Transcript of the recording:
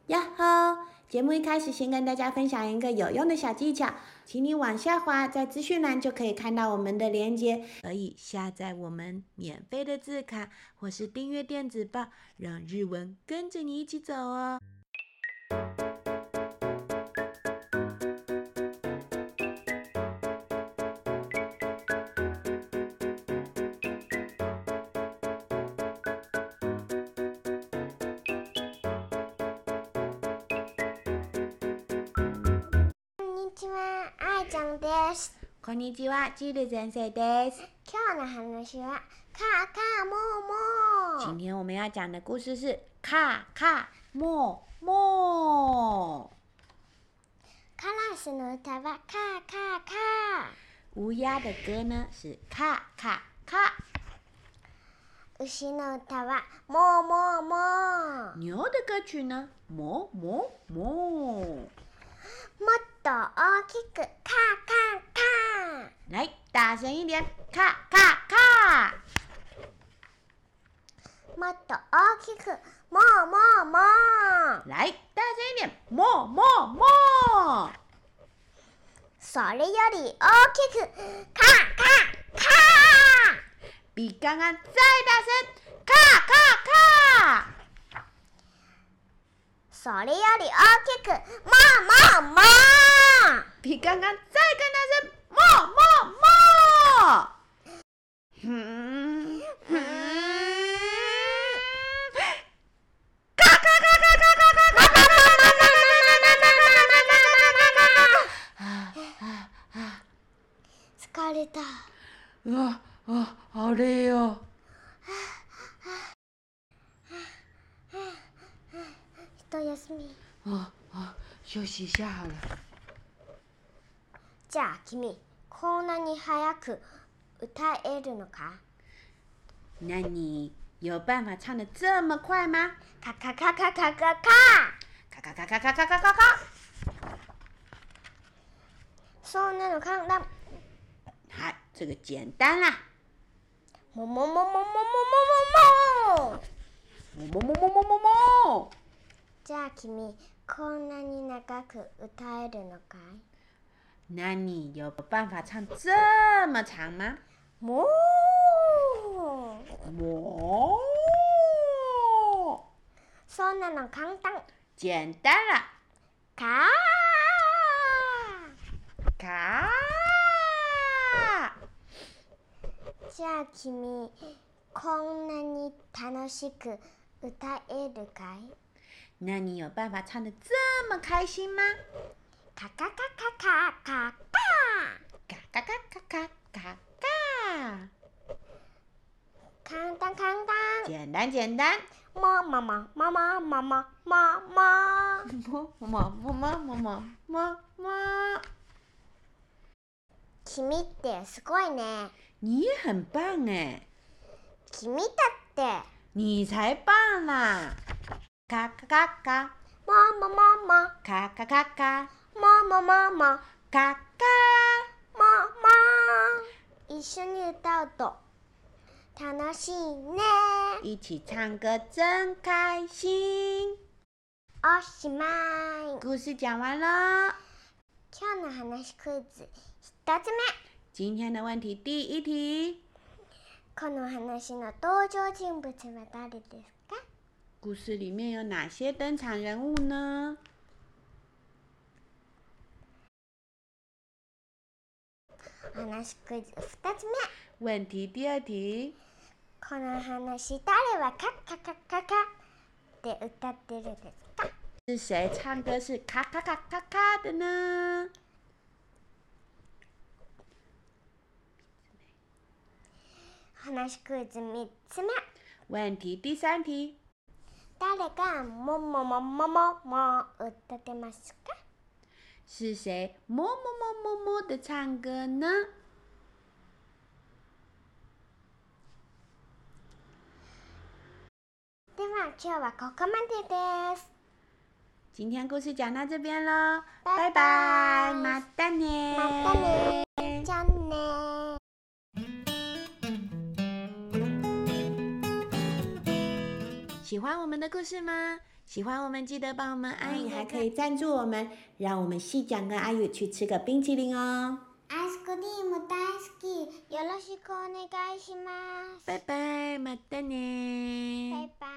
呀吼！節目一開始，先跟大家分享一個有用的小技巧，請你往下滑，在資訊欄就可以看到我們的連結，可以下載我們免費的字卡，或是訂閱電子報，讓日文跟着你一起走哦。こんにちは、ジル先生です。 今日の話はカカモモ。 今天我們要講的故事是カカモモ。 カラスの歌はカカカ。 烏鴉的歌呢是カカカ。 牛の歌はモモモ。 牛的歌曲呢モモモ。 もっと大きくカカカ。 來，大聲一點，カカカ。 もっと大きくモモモ。 來，大聲一點，モモモ。 それより大きくカカカ。 比剛剛再大聲，カカカ。 それより大きくモモモ。 比剛剛再更大聲，モモモ。カカカカカカカカカ。 疲れた。 好累哦。 一休み。 休息一下好了。 じゃあ君、こんなに早く歌えるのか？ 那你有辦法唱得這麼快嗎？ カカカカカカカ。 カカカカカカカカカ。 そんなの簡単。 好，這個簡單啦。 ももももももももも。 ももももももも。 じゃあ君、こんなに長く歌えるのかい？ 那你有辦法唱這麼長嗎？ もそんなの簡単。 簡單啦。 カカ。 じゃあ君、こんなに楽しく歌えるかい？ 那你有辦法唱得這麼開心嗎？ カカカカカカカ。 カカカカカカカ。 簡單簡單。 簡單簡單。 ももももももももも。 ももも。 君ってすごいね。 你也很棒哎。 君だって。 你才棒啦。カカカカ。 もももも。 カカカカ。 もももも。 カカ。 もも。一緒に歌うと楽しいね。 一起唱歌真開心。 おしまい。 故事講完了。 今日の話クイズ1つ目。 今天的問題第一題。 この話の登場人物は誰ですか？ 故事裡面有哪些登場人物呢？ 話クイズ2つ目。 問題第二題。 この話誰はカカカカカって歌ってるですか？ 是誰唱歌是卡卡卡卡卡的呢？ 話クイズ3つ目。 問題第三題。 誰がもももももも歌ってますか？ 是誰ももももも的唱歌呢？ では今日はここまでです。 今天故事講到這邊咯， 拜拜， 拜拜，またね， またね，じゃあね。 喜歡我們的故事嗎？ 喜歡我們記得幫我們按，你還可以贊助我們，讓我們細講跟阿宇去吃個冰淇淋哦。 アイスクリーム大好き。よろしくお願いします。 拜拜，またね。 拜拜。